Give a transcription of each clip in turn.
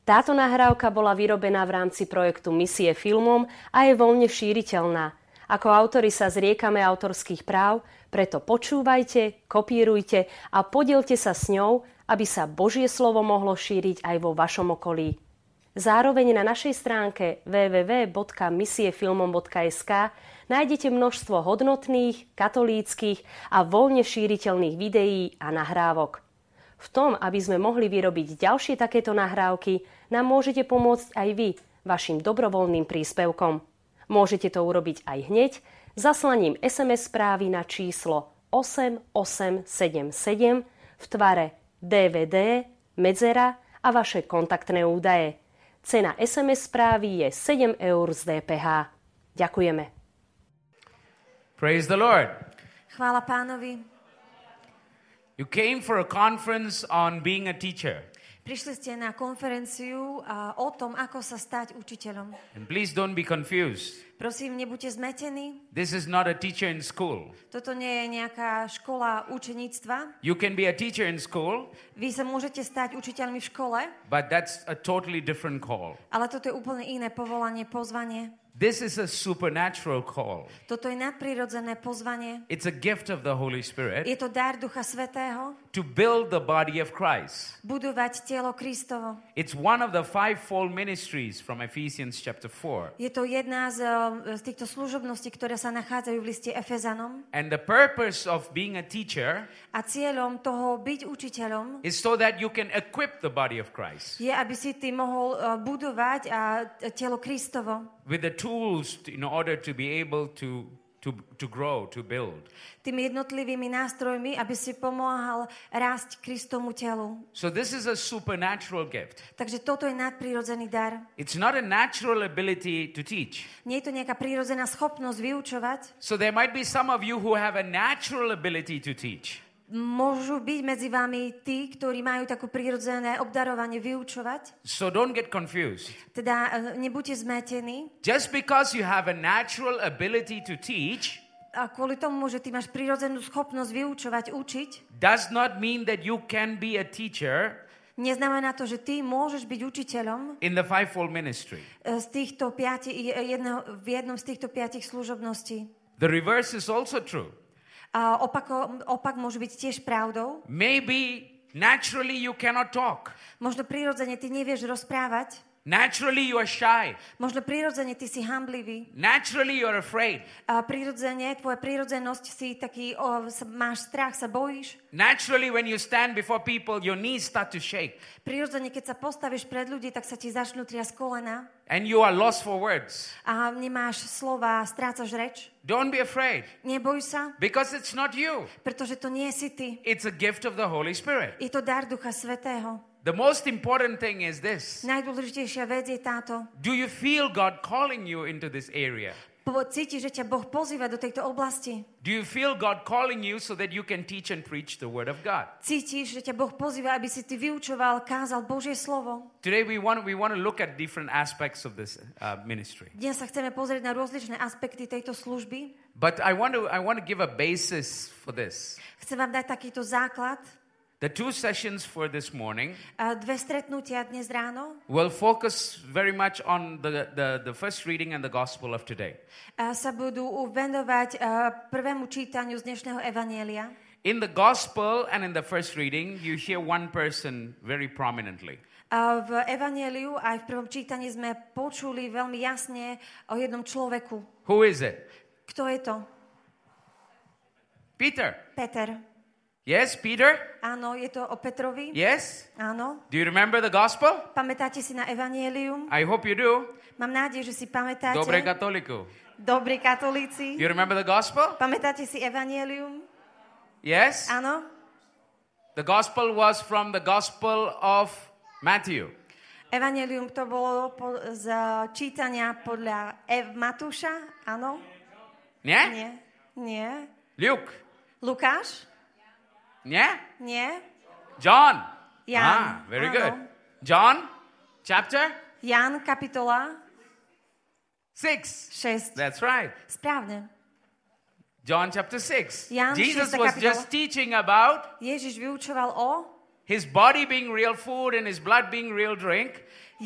Táto nahrávka bola vyrobená v rámci projektu Misie filmom a je voľne šíriteľná. Ako autori sa zriekame autorských práv, preto počúvajte, kopírujte a podielte sa s ňou, aby sa Božie slovo mohlo šíriť aj vo vašom okolí. Zároveň na našej stránke www.misiefilmom.sk nájdete množstvo hodnotných, katolíckych a voľne šíriteľných videí a nahrávok. V tom, aby sme mohli vyrobiť ďalšie takéto nahrávky, nám môžete pomôcť aj vy vašim dobrovoľným príspevkom. Môžete to urobiť aj hneď zaslaním SMS správy na číslo 8877 v tvare DVD, medzera a vaše kontaktné údaje. Cena SMS správy je 7 eur z DPH. Ďakujeme. Praise the Lord. Chvála Pánovi. You came for a conference on being a teacher. Prišli ste na konferenciu o tom, ako sa stať učiteľom. And please don't be confused. Prosím, nebuďte zmetení. This is not a teacher in school. Toto nie je nejaká škola učeníctva. You can be a teacher in school, Vy sa môžete stať učiteľmi v škole, but that's a totally different call. ale toto je úplne iné povolanie, pozvanie. This is a supernatural call. Toto je nadprirodzené pozvanie. It's a gift of the Holy Spirit Je to dar Ducha Svätého to build the body of Christ. budovať telo Kristovo. It's one of the fivefold ministries from Ephesians chapter 4. Je to jedna z týchto služobností, ktoré sa nachádzajú v liste Efezanom. And the purpose of being a teacher A cieľom toho byť učiteľom is so that you can equip the body of Christ je, aby si ty mohol budovať telo Kristovo with the tools in order to be able to grow, to build. tými jednotlivými nástrojmi, aby si pomáhal rásť Kristomu telu. So this is a supernatural gift. Takže toto je nadprirodzený dar. It's not a natural ability to teach. Nie je to nejaká prírodzená schopnosť vyučovať. So there might be some of you who have a natural ability to teach. Môžu byť medzi vami tí, ktorí majú takú prírodzené obdarovanie vyučovať. So don't get confused. Teda nebuďte zmetení. Just because you have a natural ability to teach A kvôli tomu, že ty máš prírodzenú schopnosť vyučovať, učiť, does not mean that you can be a teacher neznamená to, že ty môžeš byť učiteľom in the fivefold ministry. z týchto v jednom z týchto 5 služobností. The reverse is also true. A opak môže byť tiež pravdou. Maybe naturally you cannot talk. Možno prirodzene ty nevieš rozprávať. Naturally you are shy. Možno prirodzene ty si hanblivý. Naturally you are afraid. A prirodzene, tvoja prirodzenosť si taký, máš strach, sa bojíš. Naturally when you stand before people, your knees start to shake. Prirodzene, keď sa postavíš pred ľudí, tak sa ti začnú triasť kolena. And you are lost for words. A nemáš slova, strácaš reč. Don't be afraid. Neboj sa, Because it's not you. pretože to nie si ty. It's a gift of the Holy Spirit. Je to dar Ducha Svätého. The most important thing is this. Najdôležitejšia vec je táto. Do you feel God calling you into this area? Cítiš, že ťa Boh pozýva do tejto oblasti. Do you feel God calling you so that you can teach and preach the Word of God? Cítiš, že ťa Boh pozýva, aby si ty vyučoval, kázal Božie slovo. Today we want to look at different aspects of this ministry. Dnes sa chceme pozrieť na rozličné aspekty tejto služby. But I want to give a basis for this. Chcem vám dať takýto základ. The two sessions for this morning 2 stretnutia dnes ráno will focus very much on the first reading and the gospel of today. sa budú venovať prvému čítaniu z dnešného evanjelia. In the gospel and in the first reading, you hear one person very prominently. V evanjeliu aj v prvom čítaní sme počuli veľmi jasne o jednom človeku. Who is it? Kto je to? Peter. Peter. Yes, Peter? Áno, je to o Petrovi. Yes? Áno. Do you remember the gospel? Pamätáte si na evanjelium? I hope you do. Mám nádej, že si pamätáte. Dobre katoliku. Dobrí katolíci. You remember the gospel? Pamätáte si evanjelium? Yes? Áno. The gospel was from the gospel of Matthew. Evanjelium to bolo z čítania podľa Matúša, áno? Nie? Nie. Nie. Luke. Lukáš? Nie? Nie. John. Jan. Very Áno. good. John, chapter Jan, kapitola 6. 6. That's right. Správne. John chapter 6. Jan, Jesus 6. was kapitola. just teaching about Ježiš vyučoval o his body being real food and his blood being real drink,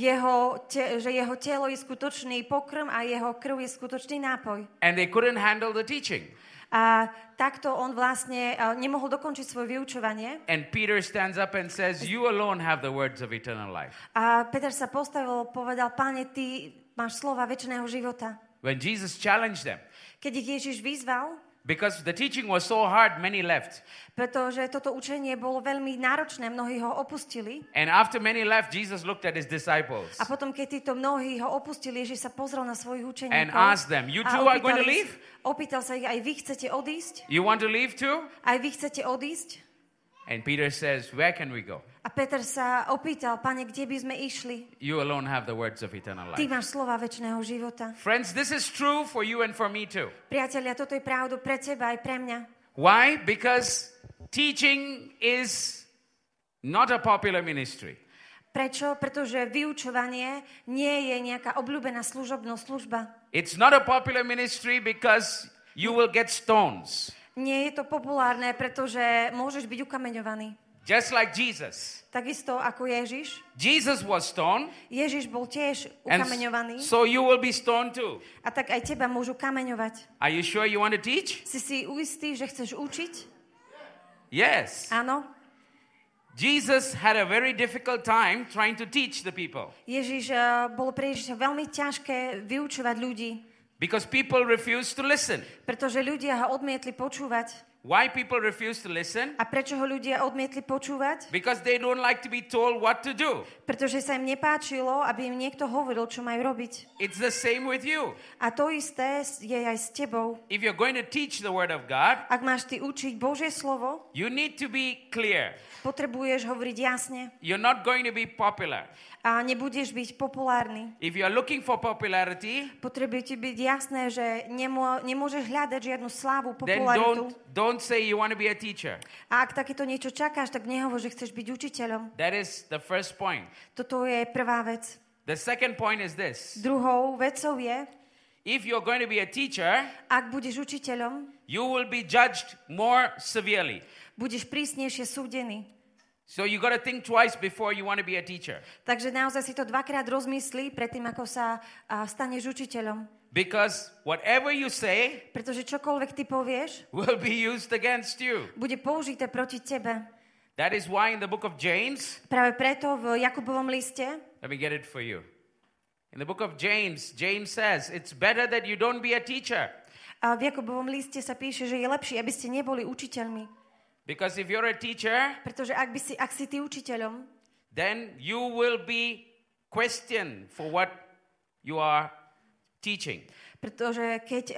že jeho telo je skutočný pokrm a jeho krv je skutočný nápoj. and they couldn't handle the teaching. A takto on vlastne nemohol dokončiť svoje vyučovanie. And Peter stands up and says, you alone have the words of eternal life. A Peter sa postavil, povedal, Páne, ty máš slova večného života. When Jesus challenged them, Keď ich Ježiš vyzval, because the teaching was so hard, many left. pretože toto učenie bolo veľmi náročné, mnohí ho opustili. And after many left, Jesus looked at his disciples A potom, keď títo mnohí ho opustili, Ježiš sa pozrel na svojich učeníkov. and asked them, you too are going to leave? Opýtal sa ich, aj vy chcete odísť? You want to leave too? Aj vy chcete odísť? And Peter says, where can we go? A Peter sa opýtal, Pane, kde by sme išli? You alone have the words of eternal Ty life. máš slova večného života. Friends, this is true for you and for me too. Priatelia, toto je pravdu pre teba aj pre mňa. Why? Because teaching is not a popular ministry. Prečo? Pretože vyučovanie nie je nejaká obľúbená služba. It's not a popular ministry because you will get stones. Nie je to populárne, pretože môžeš byť ukameňovaný. Just like Jesus. Takisto ako Ježiš. Jesus was stoned, Ježiš bol tiež and ukameňovaný. so you will be stoned too. A tak aj teba môžu kameňovať. Are you sure you want to teach? Si istý, že chceš učiť? Yes. Áno. Jesus had a very difficult time trying to teach the people Ježiš bolo pre Ježiša veľmi ťažké vyučovať ľudí, because people refused to listen. pretože ľudia ho odmietli počúvať. Why people refuse to listen? A prečo ho ľudia odmietli počúvať? Because they don't like to be told what to do. Pretože sa im nepáčilo, aby im niekto hovoril, čo majú robiť. It's the same with you. A to isté je aj s tebou. If you're going to teach the word of God, Ak máš ty učiť Božie slovo, you need to be clear. potrebuješ hovoriť jasne You're not going to be popular. a nebudeš byť populárny. If you're looking for popularity, Potrebuje ti byť jasné, že nemôžeš hľadať žiadnu slávu, then popularitu. don't say you want to be a teacher. A ak takéto niečo čakáš, tak nehovor, že chceš byť učiteľom. That is the first point. Toto je prvá vec. The second point is this. Druhou vecou je, If you're going to be a teacher, ak budeš učiteľom, you will be judged more severely. budeš prísnejšie súdený. So you got to think twice before you want to be a teacher. Takže naozaj si to dvakrát rozmyslí predtým, ako sa staneš učiteľom. Because whatever you say Pretože čokoľvek ty povieš, will be used against you. bude použité proti tebe. That is why in the book of James, Práve preto v Jakubovom liste, let me get it for you. In the book of James, James says, it's better that you don't be a teacher. a v Jakubovom liste sa píše, že je lepšie, aby ste neboli učiteľmi. Because if you're a teacher, Pretože ak si ty učiteľom, then you will be questioned for what you are teaching. pretože keď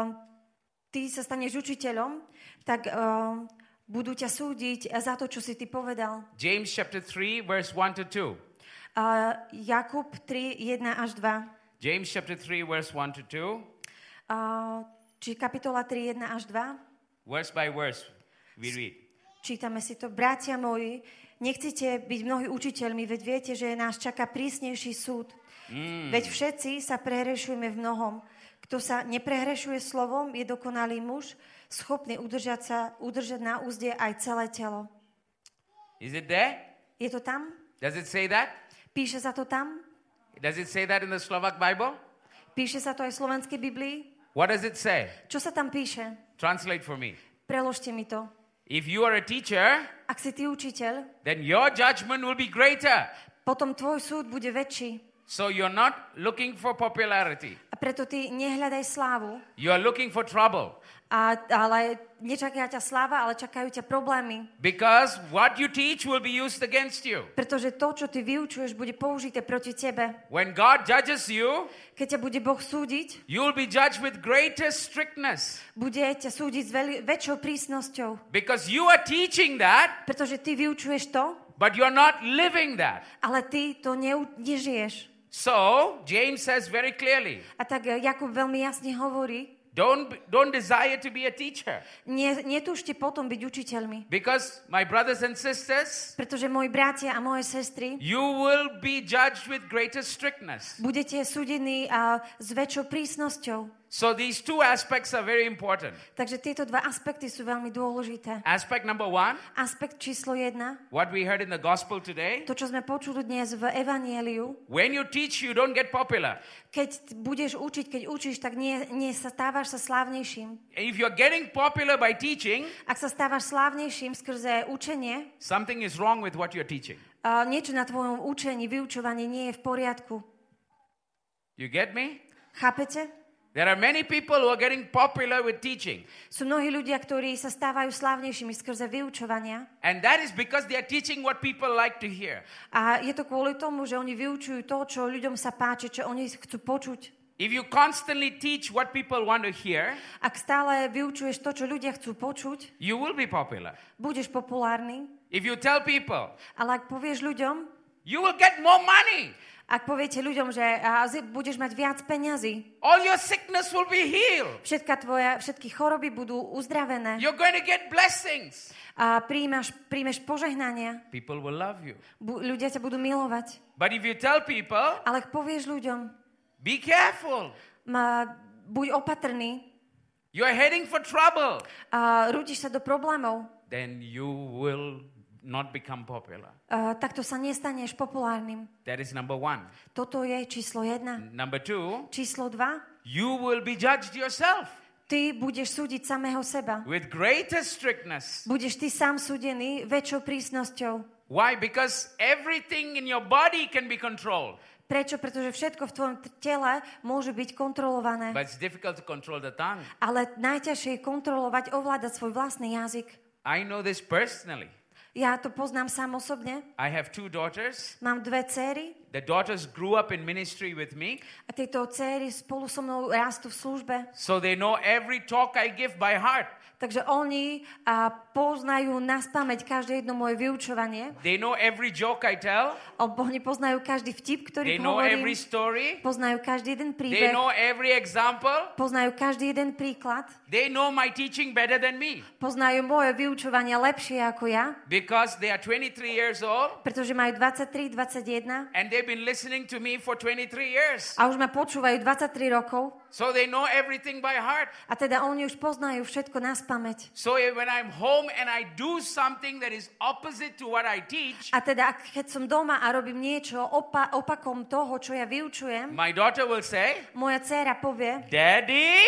ty sa staneš učiteľom, tak budú ťa súdiť za to, čo si ty povedal. James chapter 3, verse 1 to 2. Jakub 3, 1 až 2. James chapter 3, verse 1 to 2. Či kapitola 3, 1 až 2. Verse by verse, we read. Čítame si to. Bratia moji, nechcete byť mnohí učiteľmi, veď viete, že nás čaká prísnejší súd. Veď všetci sa prehrešujeme v mnohom. Kto sa neprehrešuje slovom, je dokonalý muž, schopný udržať na úzde aj celé telo. Is it there? Je to tam? Does it say that? Píše sa to tam? Does it say that in the Slovak Bible? Píše sa to aj v slovenskej Biblii? What does it say? Čo sa tam píše? Translate for me. Preložte mi to. If you are a teacher, Ak si ty učiteľ, then your judgment will be greater. potom tvoj súd bude väčší. So you're not looking for popularity. A preto ty nehľadaj slávu, You are looking for trouble. ale nečaká ťa sláva, ale čakajú ťa problémy. Because what you teach will be used against you. Pretože to, čo ty vyučuješ, bude použité proti tebe. When God judges you, Keď ťa bude Boh súdiť, you will be judged with greater strictness. bude ťa súdiť s väčšou prísnosťou. Because you are teaching that, Pretože ty vyučuješ to, but you're not living that. ale ty to nežiješ. So, James says very clearly, A tak Jakub veľmi jasne hovorí, don't desire to be a teacher. netúžte potom byť učiteľmi. Because, my brothers and sisters, Pretože moji bratia a moje sestry, you will be judged with greater strictness. budete súdení s väčšou prísnosťou. So these two aspects are very important. Takže tieto dva aspekty sú veľmi dôležité. Aspect number 1, Aspekt číslo 1, what we heard in the gospel today. to, čo sme počuli dnes v Evangeliu, When you teach, you don't get popular. keď budeš učiť, keď učíš, tak nie sa stávaš sa slávnejším. If you're getting popular by teaching, Ak sa stávaš slávnejším skrze učenie, something is wrong with what you're teaching. niečo na tvojom učení, vyučovaní nie je v poriadku. You get me? Chápete? There are many people who are getting popular with teaching. Sú mnohí ľudia, ktorí sa stávajú slávnejšími skrze vyučovania. And that is because they are teaching what people like to hear. A je to kvôli tomu, že oni vyučujú to, čo ľuďom sa páči, čo oni chcú počuť. If you constantly teach what people want to hear, Ak stále vyučuješ to, čo ľudia chcú počuť, you will be popular. budeš populárny. If you tell people, Ale ak povieš ľuďom, you will get more money. ak poviete ľuďom, že budeš mať viac peňazí, All your sickness will be healed. všetky choroby budú uzdravené You're going to get blessings. a príjmeš požehnania, People will love you. ľudia ťa budú milovať. But if you tell people, Ale ak povieš ľuďom, be careful. buď opatrný, You're heading for trouble. a rútiš sa do problémov, Then you will not become popular. takto sa nestaneš populárnym. That is number 1. Toto je číslo 1. Number 2, Číslo 2. you will be judged yourself Ty budeš súdiť samého seba. with greater strictness. Budeš ty sám súdený väčšou prísnosťou. Why? Because everything in your body can be controlled. Prečo? Pretože všetko v tvojom tele môže byť kontrolované. But it's difficult to control the tongue. Ale najťažšie je kontrolovať, ovládať svoj vlastný jazyk. I know this personally. Ja to poznám sám osobne. I have 2 daughters. Mám 2 céry The daughters grew up in ministry with me, a tieto céry spolu so mnou rastú v službe. so they know every talk I give by heart. Takže oni poznajú naspamäť každé jedno moje vyučovanie. They know every joke I tell. Oni poznajú každý vtip, They ktorý know hovorím. every story. Poznajú každý jeden They príbeh. know every example. Poznajú každý jeden príklad. They know my teaching better than me Poznajú moje vyučovania lepšie ako ja, because they are 23 years old pretože majú 23, 21 and they've been listening to me for 23 years. a už ma počúvajú 23 rokov. So they know everything by heart. A teda oni už poznajú všetko naspamäť. So when I'm home and I do something that is opposite to what I teach, A teda keď som doma a robím niečo opakom toho, čo ja vyučujem, my daughter will say, moja dcéra povie, Daddy,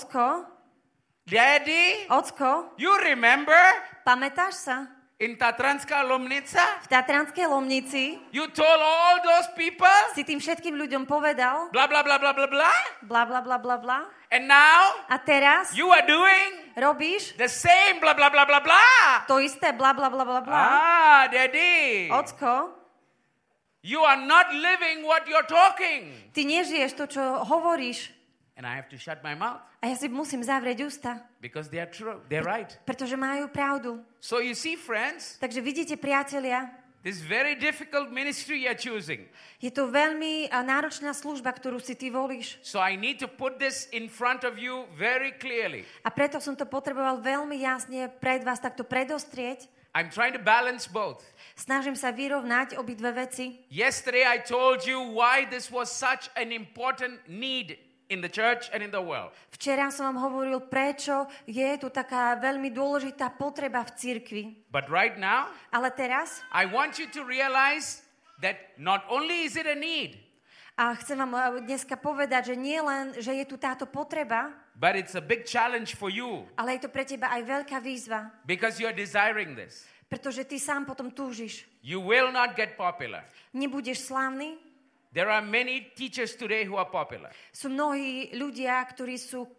Ocko, you remember pamätáš sa? in Tatranská Lomnica? V Tatranskej Lomnici You told all those people, si tým všetkým ľuďom povedal, blah, blah, blah, blah, blah, blah. bla bla bla bla bla. And now A teraz you are doing robíš the same blah, blah, blah, blah, blah. to isté, bla bla bla bla bla. Daddy, Ocko, you are not living what you're talking. ty nežiješ to, čo hovoríš. And I have to shut my mouth A ja si musím zavrieť ústa, because they are true. They're right. pretože majú pravdu. So you see, friends, Takže vidíte, priatelia, this very difficult ministry you're choosing. je to veľmi náročná služba, ktorú si ty volíš. So I need to put this in front of you very clearly. A preto som to potreboval veľmi jasne pred vás takto predostrieť. I'm trying to balance both. Snažím sa vyrovnať obidve veci. Yesterday I told you why this was such an important need in the church and in the world. Včera som vám hovoril, prečo je tu taká veľmi dôležitá potreba v cirkvi. But right now, Ale teraz, I want you to realize that not only is it a need, a chcem vám dneska povedať, že nie len, že je tu táto potreba, but it's a big challenge for you ale je to pre teba aj veľká výzva, because you're desiring this. pretože ty sám potom túžiš. You will not get popular. Nebudeš slávny. There are many teachers today who are popular. Sú mnohí ľudia, ktorí sú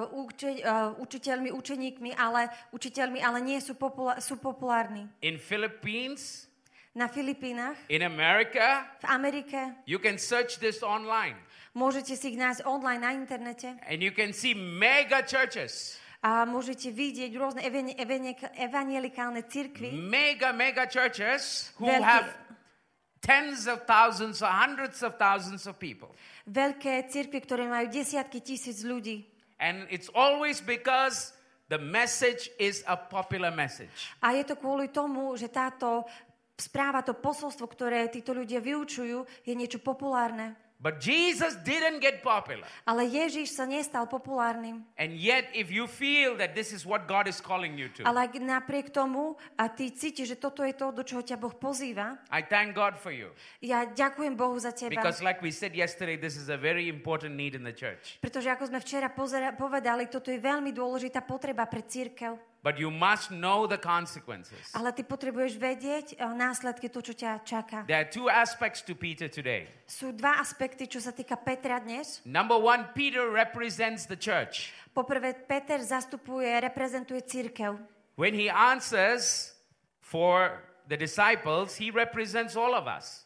učiteľmi, učeníkmi, ale nie sú, sú populárni. In Philippines, Na Filipínach, in America, v Amerike, you can search this online môžete si ich nájsť online na internete and you can see mega churches. a môžete vidieť rôzne evangelikálne cirkvi, Mega churches who Veľké- have tens of thousands or hundreds of thousands of people. veľké cirkvi, ktoré majú desiatky tisíc ľudí. And it's always because the message is a popular message. A je to kvôli tomu, že táto správa, to posolstvo, ktoré títo ľudia vyučujú, je niečo populárne. But Jesus didn't get popular. Ale Ježiš sa nestal populárnym. And yet, if you feel that this is what God is calling you to, Ale ak napriek tomu a ty cítiš, že toto je to, do čoho ťa Boh pozýva, I thank God for you. ja ďakujem Bohu za teba. Because like we said yesterday, this is a very important need in the church. Pretože ako sme včera povedali, toto je veľmi dôležitá potreba pre cirkev. But you must know the consequences. Ale ty potrebuješ vedieť následky, to, čo ťa čaká. There are two aspects to Peter today. Sú dva aspekty, čo sa týka Petra dnes. Number one, Peter represents the church. Poprvé, Peter reprezentuje cirkev. When he answers for the disciples, he represents all of us.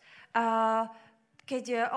Keď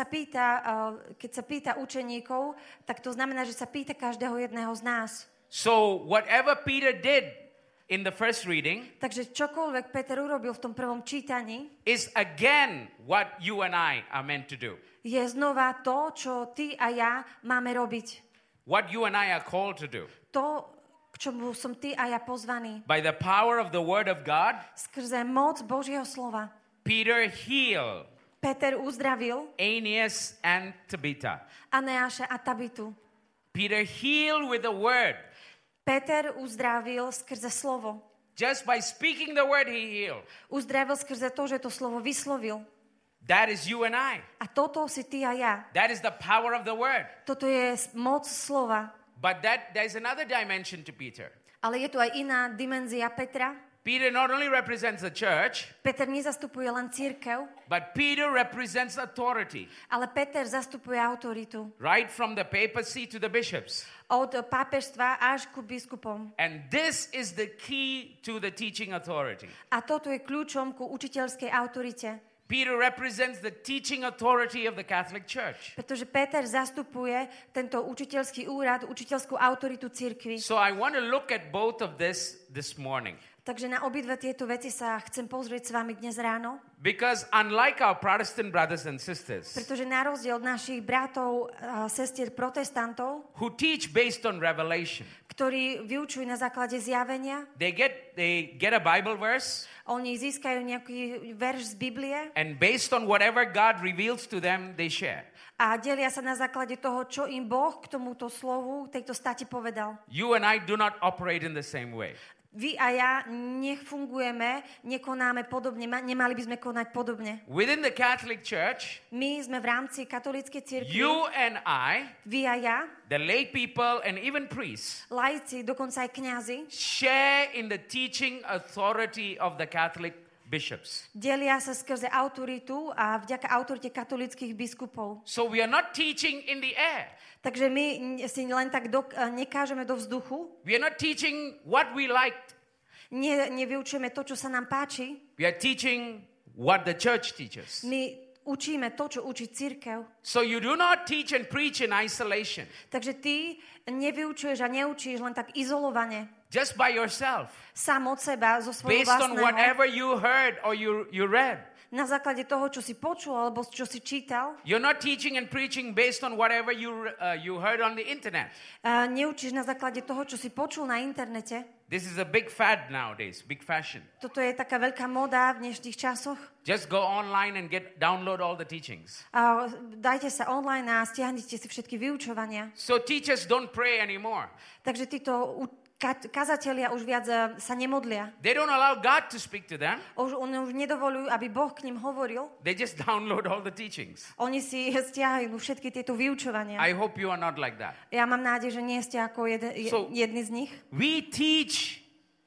sa pýta učeníkov, tak to znamená, že sa pýta každého jedného z nás. So whatever Peter did in the first reading, takže čokoľvek Peter urobil v tom prvom čítaní, is again what you and I are meant to do. Je znova to, čo ty a ja máme robiť. What you and I are called to do. To, k čomu som ty a ja pozvaný. By the power of the word of God, skrze moc Božieho slova. Peter healed Peter uzdravil Aeneas and Tabitha. Aneáša a Tabitu. Peter healed with the word. Peter uzdravil skrze slovo. Just by speaking the word he healed. Uzdravil skrze to, že to slovo vyslovil. That is you and I. A toto si ty a ja. That is the power of the word. Toto je moc slova. But there's another dimension to Peter. Ale je tu aj iná dimenzia Petra. Peter not only represents the church, Peter nezastupuje len cirkev, but Peter represents authority. Ale Peter zastupuje autoritu. Right from the papacy to the bishops. Od pápežstva až ku biskupom. And this is the key to the teaching authority. A toto je kľúčom ku učiteľskej autorite. Peter represents the teaching authority of the Catholic Church. Pretože Peter zastupuje tento učiteľský úrad, učiteľskú autoritu cirkvi. So I want to look at both of this morning. Takže na obidve tieto veci sa chcem pozrieť s vami dnes ráno. Because unlike our Protestant brothers and sisters, pretože na rozdiel od našich bratov a sestier protestantov, who teach based on revelation, ktorí vyučujú na základe zjavenia, they get a Bible verse, oni získajú nejaký verš z Biblie, and based on whatever God reveals to them, they share. A delia sa na základe toho, čo im Boh k tomuto slovu, tejto stati povedal. You and I do not operate in the same way. Vy a ja nech fungujeme, nekonáme podobne, nemali by sme konať podobne. Within the Catholic Church, my sme v rámci katolíckej cirkvi, you and I, vy a ja, the lay people and even priests, laici, dokonca aj kňazi, share in the teaching authority of the Catholic bishops. Delia sa skrze autoritu a vďaka autorite katolíckych biskupov. So we are not teaching in the air. Takže my si len tak nekážeme do vzduchu. We are not teaching what we liked. Nevyučujeme to, čo sa nám páči. We are teaching what the church teaches. My učíme to, čo učí cirkev. So you do not teach and preach in isolation. Takže ty nevyučuješ a neučíš len tak izolovane. Just by yourself. Sám od seba, zo svojho vlastného. Based vlastného. on whatever you heard or you read. Na základe toho, čo si počul alebo čo si čítal. You're not teaching and preaching based on whatever you heard on the internet. Neučíš na základe toho, čo si počul na internete. This is a big fad nowadays, big fashion. Toto je taká veľká móda v dnešných časoch. Just go online and download all the teachings. Dajte sa online a stiahnite si všetky vyučovania. So teachers don't pray anymore. Takže títo kazatelia už viac sa nemodlia. They don't allow God to speak to them. Oni už nedovolujú, aby Boh k nim hovoril. They just download all the teachings. Oni si stiahajú všetky tieto vyučovania. I hope you are not like that. Ja mám nádej, že nie ste ako jedni z nich. We teach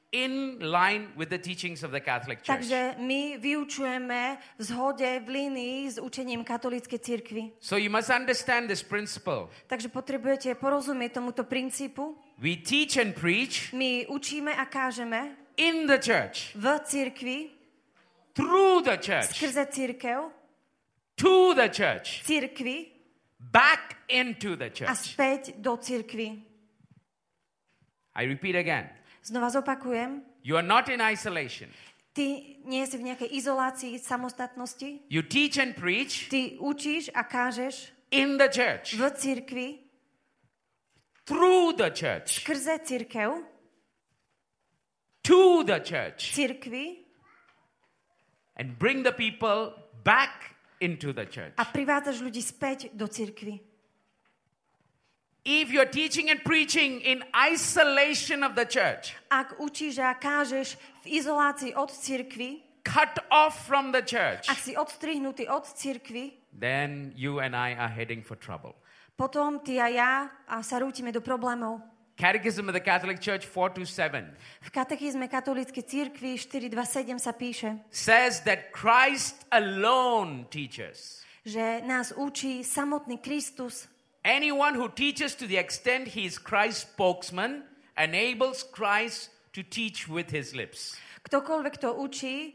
in line with the teachings of the Catholic Church. Takže my vyučujeme v zhode, v línii s učením katolíckej cirkvi. So you must understand this principle. Takže potrebujete porozumieť tomuto princípu. We teach and preach. My učíme a kážeme in the church. V cirkvi. Through the church. Skrze cirkev. To the church. Cirkvi. Back into the church. A späť do cirkvi. I repeat again. Znova zopakujem. You are not in isolation. Ty nie si v nejakej izolácii, samostatnosti. You teach and preach. Ty učíš a kážeš in the church. V cirkvi. Through the church. Skrze cirkev. To the church. Cirkvi. And bring the people back into the church. A privádzaš ľudí späť do cirkvi. If you're teaching and preaching in isolation of the church, Ak učíš a kážeš v izolácii od cirkvi, cut off from the church, ak si odstrihnutý od cirkvi, then you and I are heading for trouble. potom ty a ja sa rútime do problémov. Catechism of the Catholic Church 427 V katechizme katolíckej cirkvi 427 sa píše, says that Christ alone teaches. že nás učí samotný Kristus. Anyone who teaches to the extent he is Christ's spokesman enables Christ to teach with his lips. Ktokoľvek to učí,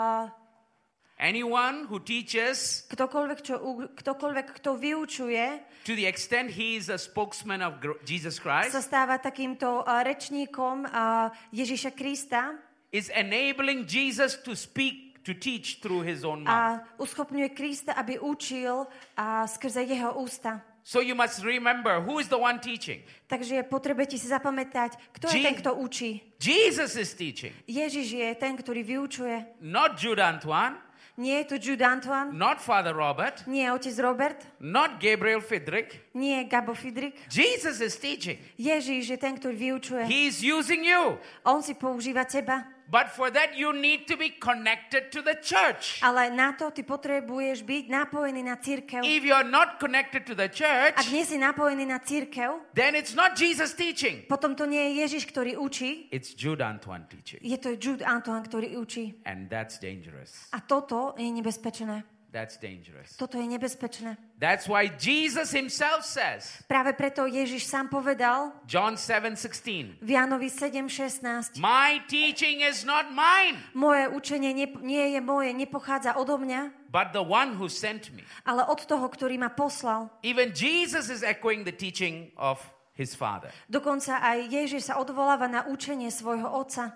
Anyone who teaches ktokoľvek, kto vyučuje, to the extent he is a spokesman of Jesus Christ sa stáva takýmto rečníkom Ježiša Krista is enabling Jesus to speak, to teach through his own mouth. a uschopňuje Krista, aby učil skrze jeho ústa. So you must remember who is the one teaching. Takže potrebujete si zapamätať, kto je ten, kto učí. Jesus is teaching. Ježiš je ten, ktorý vyučuje. Not Jude Antoine, Nie je to Jude Antoine, not Father Robert, nie je otec Robert, not Gabriel Fidrik. nie je Gabo Fidrik. Jesus is teaching. Ježiš je ten, ktorý vyučuje. He is using you. On si používa teba. But for that you need to be connected to the church. Ale na to ty potrebuješ byť napojený na cirkev. If you are not connected to the church, Ak nie si napojený na cirkev, then it's not Jesus teaching. potom to nie je Ježiš, ktorý učí. It's Jude Antoine teaching. Je to Jude Antoine, ktorý učí. And that's dangerous. A toto je nebezpečné. That's dangerous. Toto je nebezpečné. That's why Jesus himself says, Práve preto Ježiš sám povedal John 7:16, v Jánovi 7:16, my teaching is not mine, moje učenie nie je moje, nepochádza odo mňa, but the one who sent me. ale od toho, ktorý ma poslal. Even Jesus is echoing the teaching of his Father. Dokonca aj Ježiš sa odvoláva na učenie svojho otca.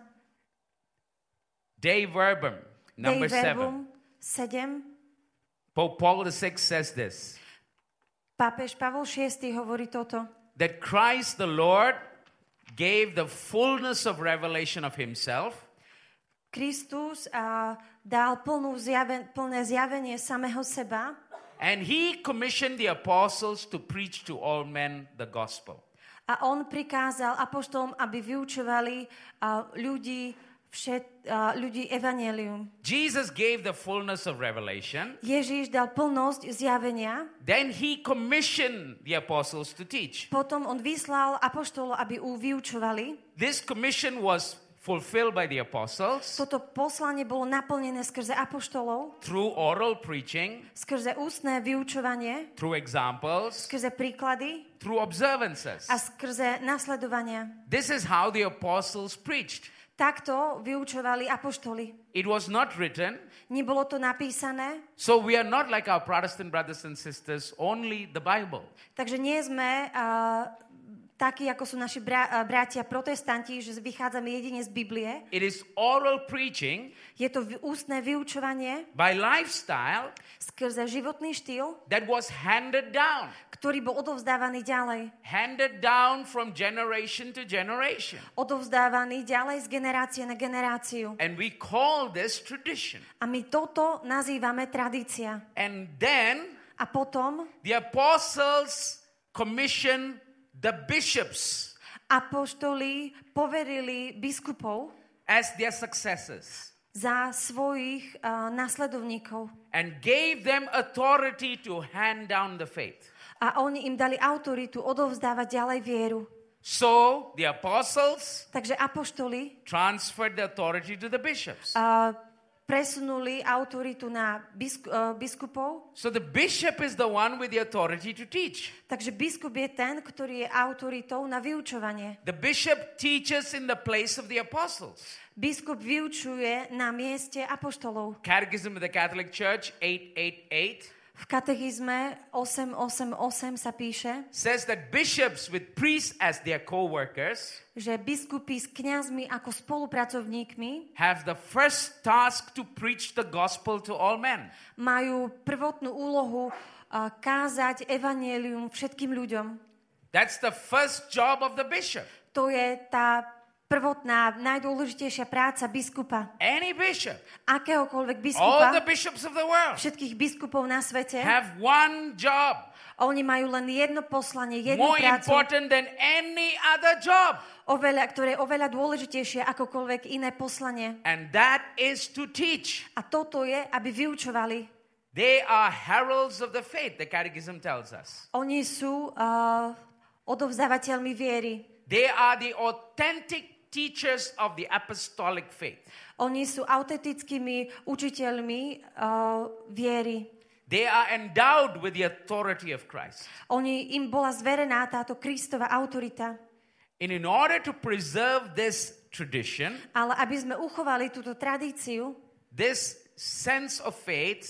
Dei Verbum, number Dei Verbum 7. 7. Pope Paul VI says this, Pápež Pavol VI hovorí toto, that Christ the Lord gave the fullness of revelation of himself Kristus dal plné zjavenie samého seba and he commissioned the apostles to preach to all men the gospel. a on prikázal apoštolom, aby vyučovali ľudí evanjelium. Jesus gave the fullness of revelation. Ježiš dal plnosť zjavenia, Then he commissioned the apostles to teach. potom on vyslal apoštolov, aby vyučovali. This commission was fulfilled by the apostles Toto poslanie bolo naplnené skrze apoštolov, through oral preaching, skrze ústne vyučovanie, through examples, skrze príklady through observances. a skrze nasledovania. This is how the apostles preached. Takto vyučovali apoštoli. It was not written, Nebolo to napísané, so we are not like our Protestant brothers and sisters, only the Bible. takže nie sme takí, ako sú naši bratia protestanti, že vychádzame jedine z Biblie. It is oral preaching Je to ústne vyučovanie by lifestyle skrze životný štýl, that was handed down. ktorý bol odovzdávaný ďalej. Handed down from generation to generation. Odovzdávaný ďalej z generácie na generáciu. And we call this tradition. A my toto nazývame tradícia. And then A potom the apostles commissioned the bishops apoštoli poverili biskupov as their successors za svojich nasledovníkov. and gave them authority to hand down the faith. A oni im dali autoritu odovzdávať ďalej vieru. So the apostles Takže apoštoli transferred the authority to the bishops. presunuli autoritu na biskupov. So the bishop is the one with the authority to teach. Takže biskup je ten, ktorý je autoritou na vyučovanie. The bishop teaches in the place of the apostles. Biskup vyučuje na mieste apoštolov. Catechism of the Catholic Church 888 V katechizme 888 sa píše, says that bishops with priests as their co-workers že biskupy s kňazmi ako spolupracovníkmi have the first task to preach the gospel to all men. majú prvotnú úlohu kázať evanjelium všetkým ľuďom. That's the first job of the bishop. To je tá prvotná, najdôležitejšia práca biskupa. Any bishop, Akéhokoľvek all biskupa, the bishops of the world všetkých biskupov na svete, have one job oni majú len jedno poslanie, jednu more prácu, important than any other job. ktoré je oveľa dôležitejšie akokoľvek iné poslanie. And that is to teach. A toto je, aby vyučovali. They are heralds of the faith, the Catechism tells us. Oni sú odovzdávateľmi viery. They are the authentic teachers of the apostolic faith. Oni sú autentickými učiteľmi viery. They are endowed with the authority of Christ. Im bola zverená táto Kristova autorita. And in order to preserve this tradition, Ale aby sme uchovali túto tradíciu, this sense of faith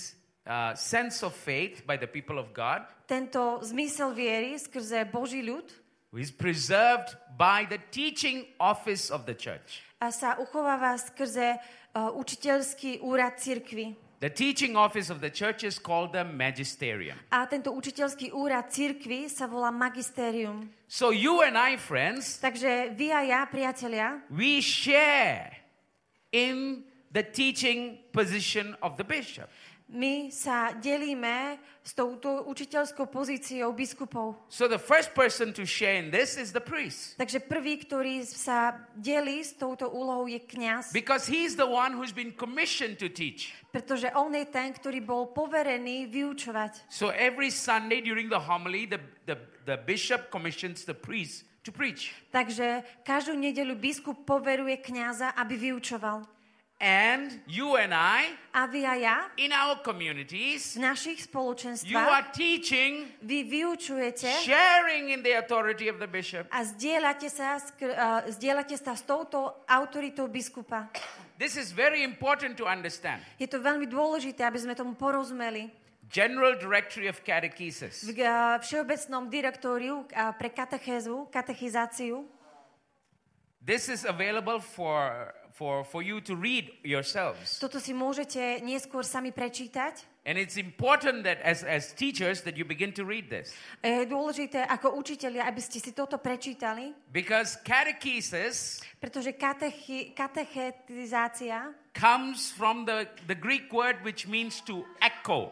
by the people of God, tento zmysel viery skrze Boží ľud is preserved by the teaching office of the church. a sa uchováva skrze učiteľský úrad cirkvi. The teaching office of the church is called the magisterium. A tento učiteľský úrad cirkvi sa volá magisterium. So you and I, friends, Takže vy a ja, priatelia, we share in the teaching position of the bishop. my sa delíme s touto učiteľskou pozíciou biskupov. So the first person to share in this is the priest. Takže prvý, ktorý sa delí s touto úlohou, je kňaz. Because he's the one who's been commissioned to teach. Pretože on je ten, ktorý bol poverený vyučovať. So every Sunday during the homily, the bishop commissions the priest to preach. Takže každú nedeľu biskup poveruje kňaza, aby vyučoval. And you and I, A vy a ja, in our communities, v našich you spoločenstvách, are teaching, vy vyučujete sharing in the authority of the bishop. a zdieľate sa s touto autoritou biskupa. This is very important to understand. Je to veľmi dôležité, aby sme tomu porozumeli. General Directory of Catechesis. V všeobecnom direktóriu pre katechizáciu. This is available for you to read yourselves. Toto si môžete neskôr sami prečítať. And it's important that as teachers that you begin to read this. Je dôležité ako učitelia, aby ste si toto prečítali. Because catechesis, Pretože katechetizácia comes from the Greek word which means to echo.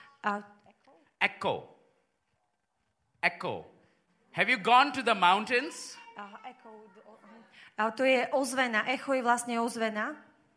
Echo. Echo. Have you gone to the mountains? to je ozvena. Echo je vlastne ozvena.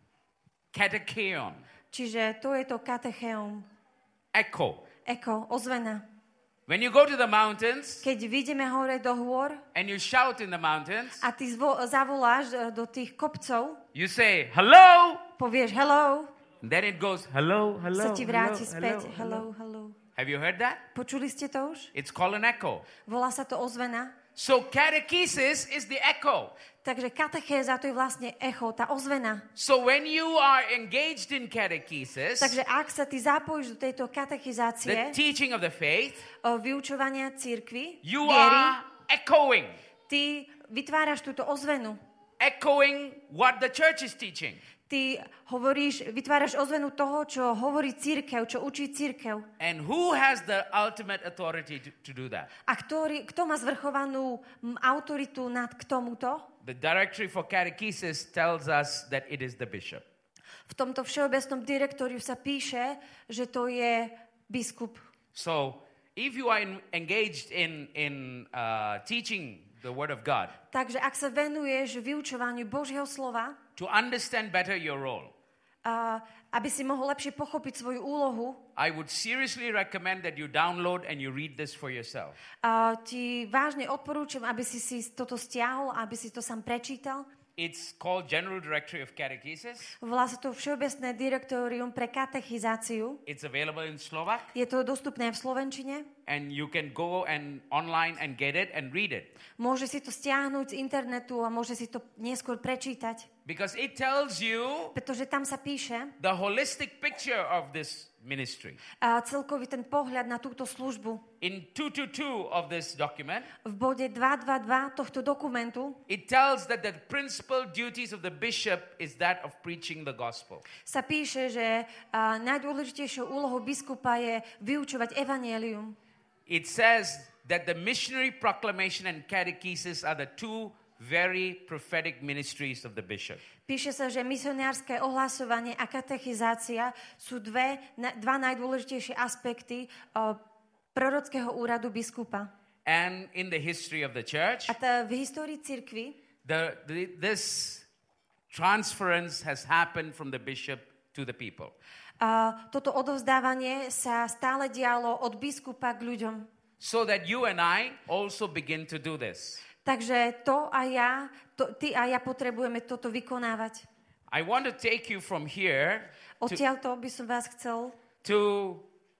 Katecheon. Čiže to je to katecheum. Echo. Echo, ozvena. When you go to the mountains Keď vyjdeme hore do hôr and you shout in the mountains, a ty zavoláš do tých kopcov, you say, hello. povieš hello, And then it goes, hello, hello, sa ti vráti hello, späť. hello. Hello. Have you heard that? Počuli ste to už? It's called an echo. Volá sa to ozvena. So catechesis is the echo. Takže katechéza to je vlastne echo, tá ozvena. So when you are engaged in catechesis, Takže ak sa ty zapojíš do tejto katechizácie, the teaching of the faith, vyučovania cirkvi, you viery, are echoing. ty vytváraš túto ozvenu. Echoing what the church is teaching. Ty vytváraš ozvenu toho, čo hovorí cirkev, čo učí cirkev. And who has the ultimate authority to do that? A kto má zvrchovanú autoritu k tomuto? The Directory for Catechesis tells us that it is the bishop. V tomto všeobecnom direktóriu sa píše, že to je biskup. So, if you are engaged in teaching the Word of God, Takže ak sa venuješ vyučovaniu Božieho slova, to understand better your role, aby si mohol lepšie pochopiť svoju úlohu, I would seriously recommend that you download and you read this for yourself. ti vážne odporúčam, aby si toto stiahol, aby si to sám prečítal. It's called General Directory of Catechesis. Volá sa to Všeobecné direktórium pre katechizáciu. It's available in Slovak. Je to dostupné v slovenčine. And you can go and online and get it and read it. Môže si to stiahnuť z internetu a môže si to neskôr prečítať. Because it tells you Pretože tam sa píše the holistic picture of this ministry. Celkový ten pohľad na túto službu. In 222 of this document, V bode 222 tohto dokumentu it tells that the principal duties of the bishop is that of preaching the gospel. sa píše, že najdôležitejšou úlohou biskupa je vyučovať evanjelium. It says that the missionary proclamation and catechesis are the two very prophetic ministries of the bishop. Píše sa, že misionárske ohlasovanie a katechizácia sú dva najdôležitejšie aspekty prorockého úradu biskupa. And in the history of the church, A v histórii cirkvi this transference has happened from the bishop to the people. toto odovzdávanie sa stále dialo od biskupa k ľuďom. So that you and I also begin to do this. Takže ty a ja potrebujeme toto vykonávať. I want to take you from here Odtiaľto by som vás chcel to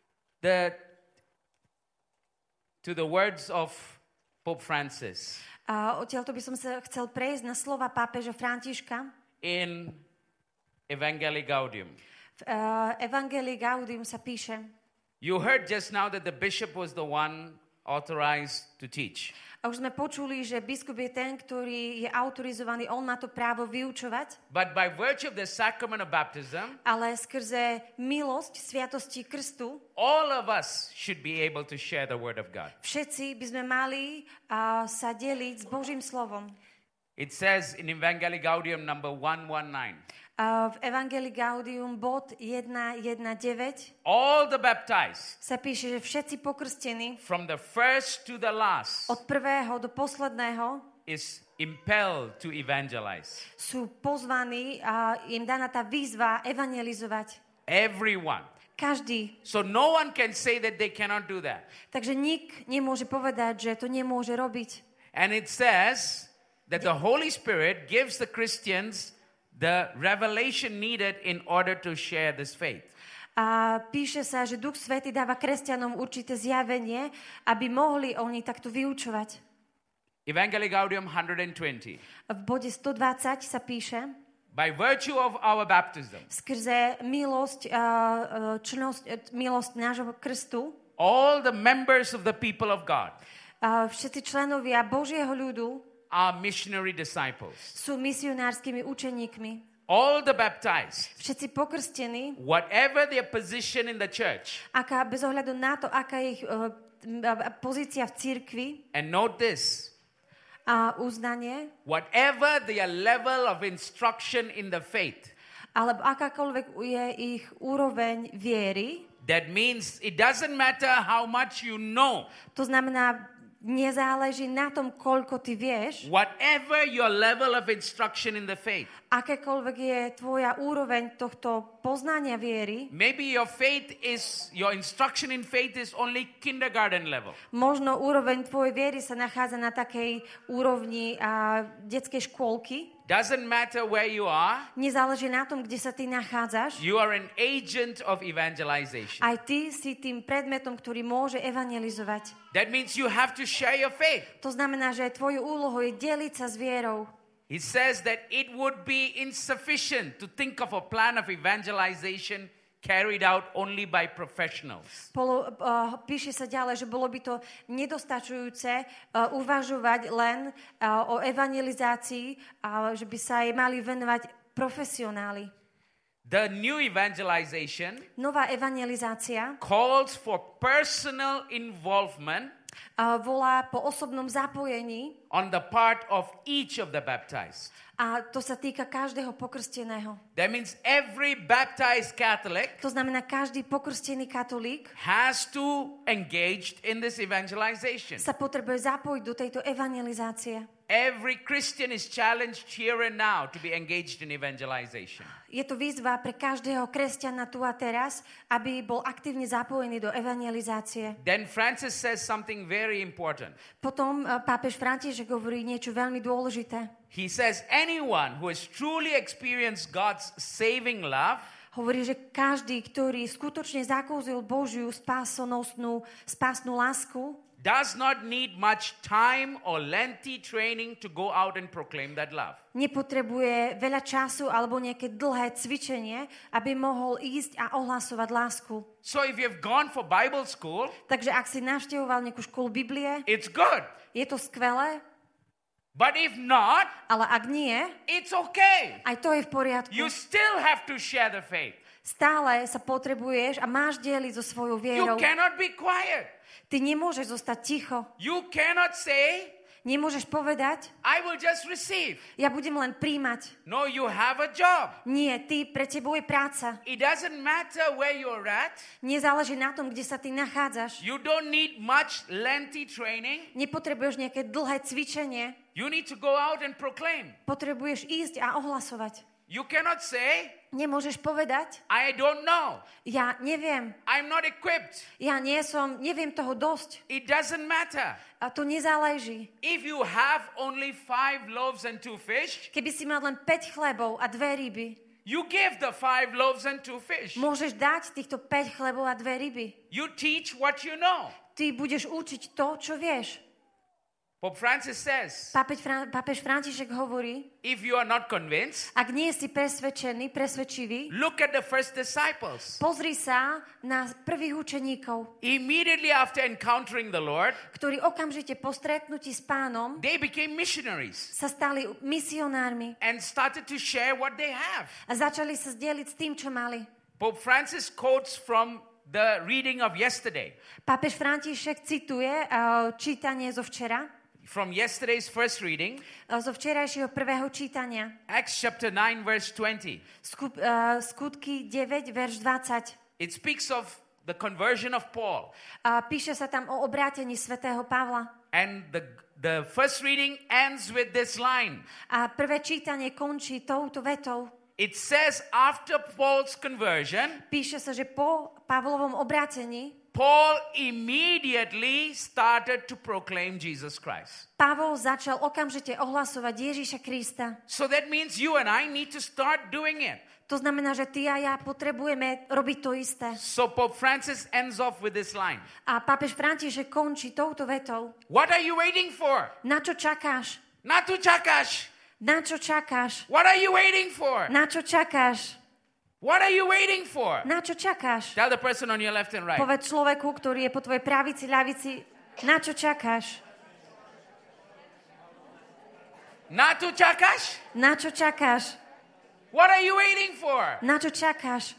the words of Pope Francis odtiaľto by som sa chcel prejsť na slova pápeža Františka in Evangelii Gaudium. V Evangelii Gaudium sa píše: You heard just now that the bishop was the one authorized to teach. A už sme počuli, že biskup je ten, ktorý je autorizovaný, on má to právo vyučovať. But by virtue of the sacrament of baptism, Ale skrze milosť sviatosti krstu all of us should be able to share the word of God. všetci by sme mali sa deliť s Božím slovom. It says in Evangelii Gaudium number 119. V Evangelii Gaudium bod 1.1.9 All the baptized, sa píše, že všetci pokrstení from the first to the last, od prvého do posledného is impelled to evangelize. sú pozvaní a im daná tá výzva evangelizovať. Everyone. Každý. So no one can say that they cannot do that. Takže nik nemôže povedať, že to nemôže robiť. And it says that the Holy Spirit gives the Christians the revelation needed in order to share this faith. A píše sa, že Duch Svätý dáva kresťanom určité zjavenie, aby mohli oni takto vyučovať. Evangelii Gaudium 120. V bode 120 sa píše: By virtue of our baptism, skrze milosť nášho krstu, all the members of the people of God všetci členovia Božieho ľudu are missionary disciples. sú misionárskymi učeníkmi. All the baptized, Všetci pokrstení, whatever their position in the church, bez ohľadu na to, aká je ich pozícia v cirkvi and note this, a uznanie, whatever their level of instruction in the faith, alebo akákoľvek je ich úroveň viery, that means it doesn't matter how much you know. to znamená, nezáleží na tom, koľko ty vieš, Whatever your level of instruction in the faith, akékoľvek je tvoja úroveň tohto poznania viery, maybe your instruction in faith is only kindergarten level. možno úroveň tvojej viery sa nachádza na takej úrovni detskej škôlky. Doesn't matter where you are. Nezáleží na tom, kde sa ty nachádzaš. You are an agent of evangelization. Aj ty si tým predmetom, ktorý môže evangelizovať. That means you have to share your faith. To znamená, že tvojou úlohou je deliť sa s vierou. He says that it would be insufficient to think of a plan of evangelization carried out only by professionals. Píše sa ďalej, že bolo by to nedostačujúce uvažovať len o evangelizácii, že by sa jej mali venovať profesionáli. The new evangelization Nová evangelizácia calls for personal involvement volá po osobnom zapojení on the part of each of the baptized. a to sa týka každého pokrsteného. That means every baptized Catholic To znamená, každý pokrstený katolík has to engage in this evangelization. sa potrebuje zapojiť do tejto evangelizácie. Every Christian is challenged here and now to be engaged in evangelization. Je to výzva pre každého kresťana tu a teraz, aby bol aktívne zapojený do evangelizácie. Then Francis says something very important. Potom pápež František hovorí niečo veľmi dôležité. He says anyone who has truly experienced God's saving love Hovorí, že každý, ktorý skutočne zakúsil Božiu spásnu lásku, does not need much time or lengthy training to go out and proclaim that love. nepotrebuje veľa času alebo nejaké dlhé cvičenie, aby mohol ísť a ohlasovať lásku. So if you've gone for Bible school, Takže ak si navštevoval nejakú školu Biblie, it's good. je to skvelé, But if not, ale ak nie, it's okay. aj to je v poriadku. You still have to share the faith. Stále sa potrebuješ a máš dieliť so svojou You vierou. cannot be quiet. Ty nemôžeš zostať ticho. You cannot say, Nemôžeš povedať, I will just receive. ja budem len príjmať. No, you have a job. Nie, pre tebou je práca. It doesn't matter where you're at. Nezáleží na tom, kde sa ty nachádzaš. You don't need much lengthy training. Nepotrebuješ nejaké dlhé cvičenie. You need to go out and proclaim. Potrebuješ ísť a ohlasovať. You cannot say, Nemôžeš povedať, I don't know. ja neviem, I'm not equipped. ja neviem toho dosť. It doesn't matter. A to nezáleží. If you have only 5 loaves and 2 fish, Keby si mal len 5 chlebov a 2 ryby, you give the 5 loaves and 2 fish. môžeš dať týchto 5 chlebov a 2 ryby. You teach what you know. Ty budeš učiť to, čo vieš. Pope Francis says, Pápež František hovorí, if you are not convinced, ak nie si presvedčivý, look at the first disciples. pozri sa na prvých učeníkov, Immediately after encountering the Lord, ktorí okamžite po stretnutí s Pánom they became missionaries sa stali misionármi and started to share what they have. a začali sa zdieľiť s tým, čo mali. Pope Francis quotes from the reading of yesterday, Pápež František cituje čítanie zo včera, from yesterday's first reading, zo včerajšieho prvého čítania. Acts chapter 9, verse 20. Skutky 9, verš 20. It speaks of the conversion of Paul. Píše sa tam o obrátení svätého Pavla. And the first reading ends with this line. A prvé čítanie končí touto vetou. It says, after Paul's conversion, Píše sa, že po Pavlovom obrátení Paul immediately started to proclaim Jesus Christ. Pavol začal okamžite ohlasovať Ježiša Krista. So that means you and I need to start doing it. To znamená, že ty a ja potrebujeme robiť to isté. So Pope Francis ends off with this line. A pápež František končí touto vetou. What are you waiting for? Na čo čakáš? Na tu čakáš. Na čo čakáš? What are you waiting for? Na čo čakáš? What are you waiting for? Na čo čakáš? Tell the person on your left and right. Povedz človeku, ktorý je po tvojej pravici, ľavici, na čo čakáš? Na tu čakáš? Na čo čakáš? What are you waiting for? Na čo čakáš?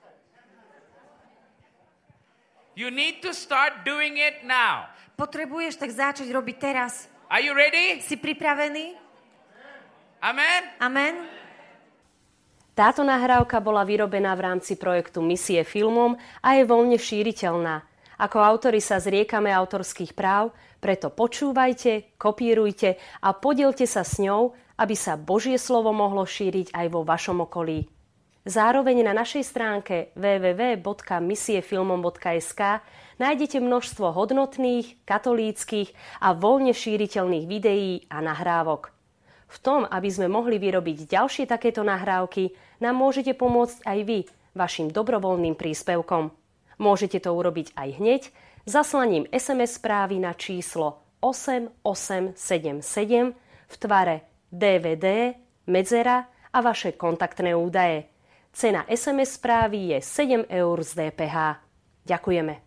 You need to start doing it now. Potrebuješ tak začať robiť teraz. Are you ready? Si pripravený? Amen? Amen? Táto nahrávka bola vyrobená v rámci projektu Misie filmom a je voľne šíriteľná. Ako autori sa zriekame autorských práv, preto počúvajte, kopírujte a podielte sa s ňou, aby sa Božie slovo mohlo šíriť aj vo vašom okolí. Zároveň na našej stránke www.misiefilmom.sk nájdete množstvo hodnotných, katolíckych a voľne šíriteľných videí a nahrávok. V tom, aby sme mohli vyrobiť ďalšie takéto nahrávky, nám môžete pomôcť aj vy vašim dobrovoľným príspevkom. Môžete to urobiť aj hneď zaslaním SMS správy na číslo 8877 v tvare DVD, medzera a vaše kontaktné údaje. Cena SMS správy je 7 eur z DPH. Ďakujeme.